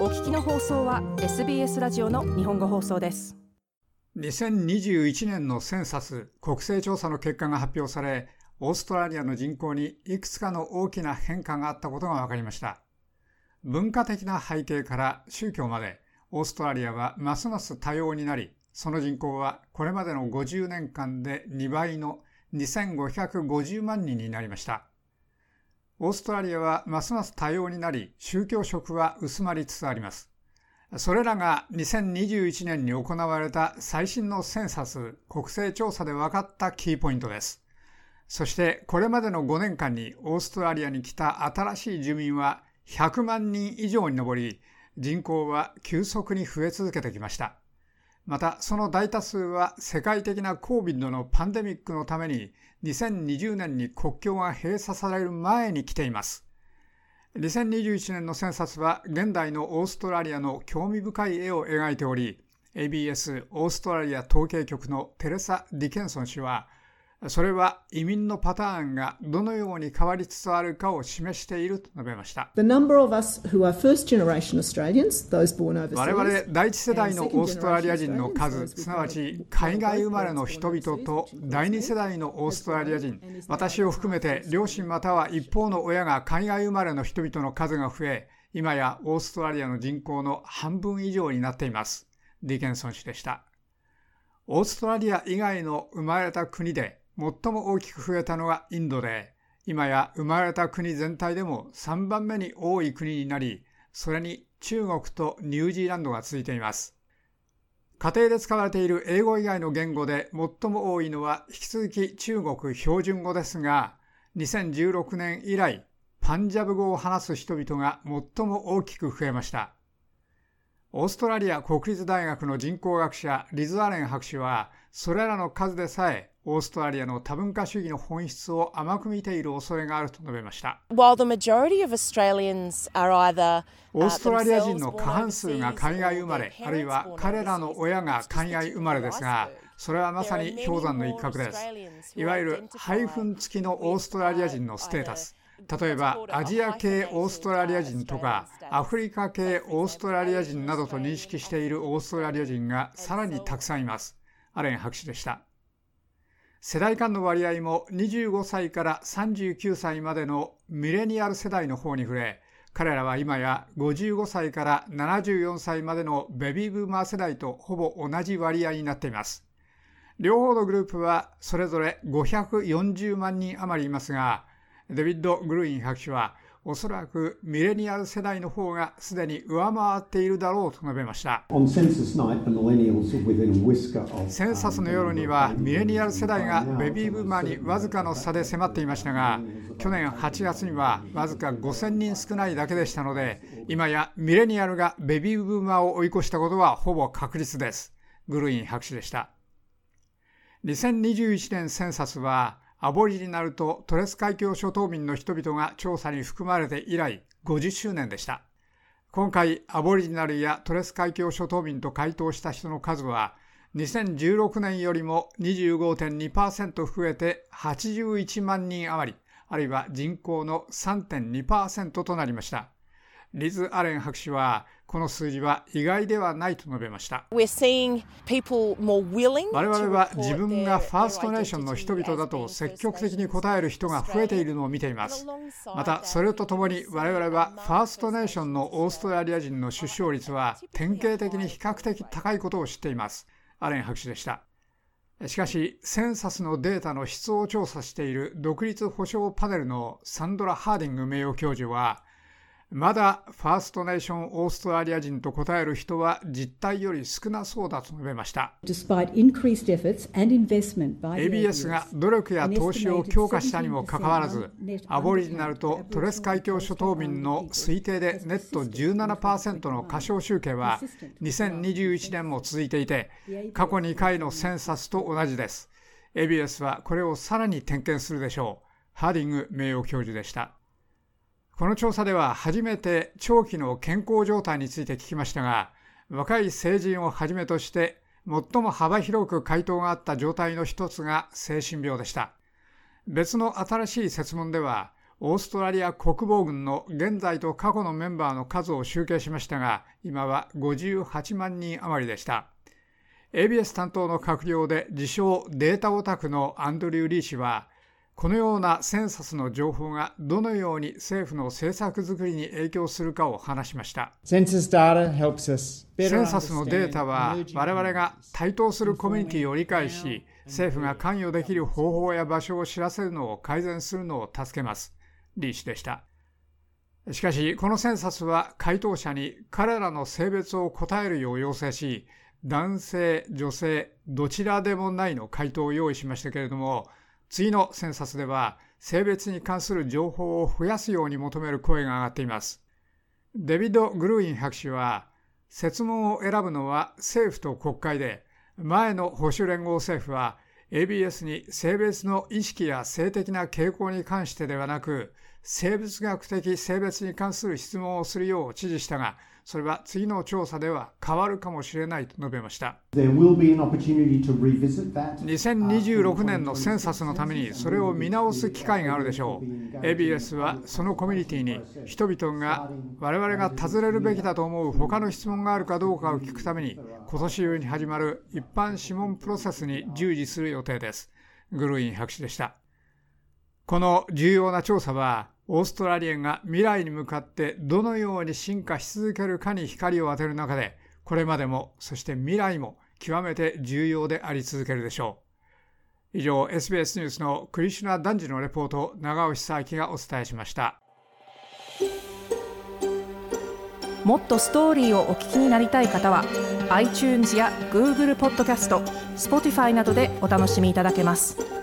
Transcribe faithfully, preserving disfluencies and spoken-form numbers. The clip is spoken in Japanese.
お聞きの放送は エスビーエス ラジオの日本語放送です。 にせんにじゅういちねんのセンサス国勢調査の結果が発表され、オーストラリアの人口にいくつかの大きな変化があったことが分かりました。文化的な背景から宗教まで、オーストラリアはますます多様になり、その人口はこれまでのごじゅうねんかんでにばいのにせんごひゃくごじゅうまんにんになりました。オーストラリアはますます多様になり、宗教色は薄まりつつあります。それらがにせんにじゅういちねんに行われた最新のセンサス国勢調査で分かったキーポイントです。そしてこれまでのごねんかんにオーストラリアに来た新しい住民はひゃくまんにん以上に上り、人口は急速に増え続けてきました。またその大多数は世界的な コービッド のパンデミックのためににせんにじゅうねんに国境が閉鎖される前に来ています。にせんにじゅういちねんのセンサスは現代のオーストラリアの興味深い絵を描いており、 エービーエス オーストラリア統計局のテレサ・ディケンソン氏は、それは移民のパターンがどのように変わりつつあるかを示していると述べました。我々第一世代のオーストラリア人の数、すなわち海外生まれの人々と第二世代のオーストラリア人、私を含めて両親または一方の親が海外生まれの人々の数が増え、今やオーストラリアの人口の半分以上になっています。ディケンソン氏でした。オーストラリア以外の生まれた国で最も大きく増えたのがインドで、今や生まれた国全体でもさんばんめに多い国になり、それに中国とニュージーランドが続いています。家庭で使われている英語以外の言語で最も多いのは引き続き中国標準語ですが、にせんじゅうろくねん以来、パンジャブ語を話す人々が最も大きく増えました。オーストラリア国立大学の人口学者リズ・アレン博士は、それらの数でさえオーストラリアの多文化主義の本質を甘く見ている恐れがあると述べました。オーストラリア人の過半数が海外生まれ、あるいは彼らの親が海外生まれですが、それはまさに氷山の一角です。いわゆるハイフン付きのオーストラリア人のステータス。例えばアジア系オーストラリア人とかアフリカ系オーストラリア人などと認識しているオーストラリア人がさらにたくさんいます。アレン博士でした。世代間の割合もにじゅうごさいからさんじゅうきゅうさいまでのミレニアル世代の方に触れ、彼らは今やごじゅうごさいからななじゅうよんさいまでのベビーブーマー世代とほぼ同じ割合になっています。両方のグループはそれぞれごひゃくよんじゅうまんにん余りいますが、デビッド・グルイン博士はおそらくミレニアル世代の方がすでに上回っているだろうと述べました。センサスの夜にはミレニアル世代がベビーブーマーにわずかの差で迫っていましたが、去年はちがつにはわずかごせんにん少ないだけでしたので、今やミレニアルがベビーブーマーを追い越したことはほぼ確実です。グルイン博士でした。にせんにじゅういちねんセンサスはアボリジナルとトレス海峡諸島民の人々が調査に含まれて以来ごじゅっしゅうねんでした。今回アボリジナルやトレス海峡諸島民と回答した人の数はにせんじゅうろくねんよりも にじゅうごてんにパーセント 増えてはちじゅういちまんにん余り、あるいは人口の さんてんにパーセント となりました。リズ・アレン博士はこの数字は意外ではないと述べました。我々は自分がファーストネーションの人々だと積極的に答える人が増えているのを見ています。またそれとともに我々はファーストネーションのオーストラリア人の出生率は典型的に比較的高いことを知っています。アレン博士でした。しかしセンサスのデータの質を調査している独立保障パネルのサンドラ・ハーディング名誉教授は、まだファーストネーションオーストラリア人と答える人は実態より少なそうだと述べました。エービーエス が努力や投資を強化したにもかかわらず、アボリジナルとトレス海峡諸島民の推定でネット じゅうななパーセント の過少集計はにせんにじゅういちねんも続いていて、過去にかいのセンサスと同じです。エービーエス はこれをさらに点検するでしょう。ハーディング名誉教授でした。この調査では初めて長期の健康状態について聞きましたが、若い成人をはじめとして最も幅広く回答があった状態の一つが精神病でした。別の新しい設問では、 オーストラリア国防軍の現在と過去のメンバーの数を集計しましたが、今はごじゅうはちまんにん余りでした。エービーエス 担当の閣僚で自称データオタクのアンドリュー・リー氏は、このようなセンサスの情報がどのように政府の政策作りに影響するかを話しました。センサスのデータは我々が台頭するコミュニティを理解し、政府が関与できる方法や場所を知らせるのを改善するのを助けます。リー氏でした。しかし、このセンサスは回答者に彼らの性別を答えるよう要請し、男性、女性、どちらでもないの回答を用意しましたけれども、次のセンサスでは性別に関する情報を増やすように求める声が上がっています。デビッド・グルーイン博士は、設問を選ぶのは政府と国会で、前の保守連合政府は エービーエス に性別の意識や性的な傾向に関してではなく、生物学的性別に関する質問をするよう指示したが、それは次の調査では変わるかもしれないと述べました。にせんにじゅうろくねんのセンサスのためにそれを見直す機会があるでしょう。エービーエス はそのコミュニティに人々が我々が尋ねるべきだと思う他の質問があるかどうかを聞くために、今年中に始まる一般諮問プロセスに従事する予定です。グルーイン博士でした。この重要な調査は、オーストラリアが未来に向かってどのように進化し続けるかに光を当てる中で、これまでもそして未来も極めて重要であり続けるでしょう。以上、エスビーエス ニュースのクリシュナ・ダンジのレポートを長尾久明がお伝えしました。 もっとストーリーをお聞きになりたい方は iTunes や Google ポッドキャスト、Spotify などでお楽しみいただけます。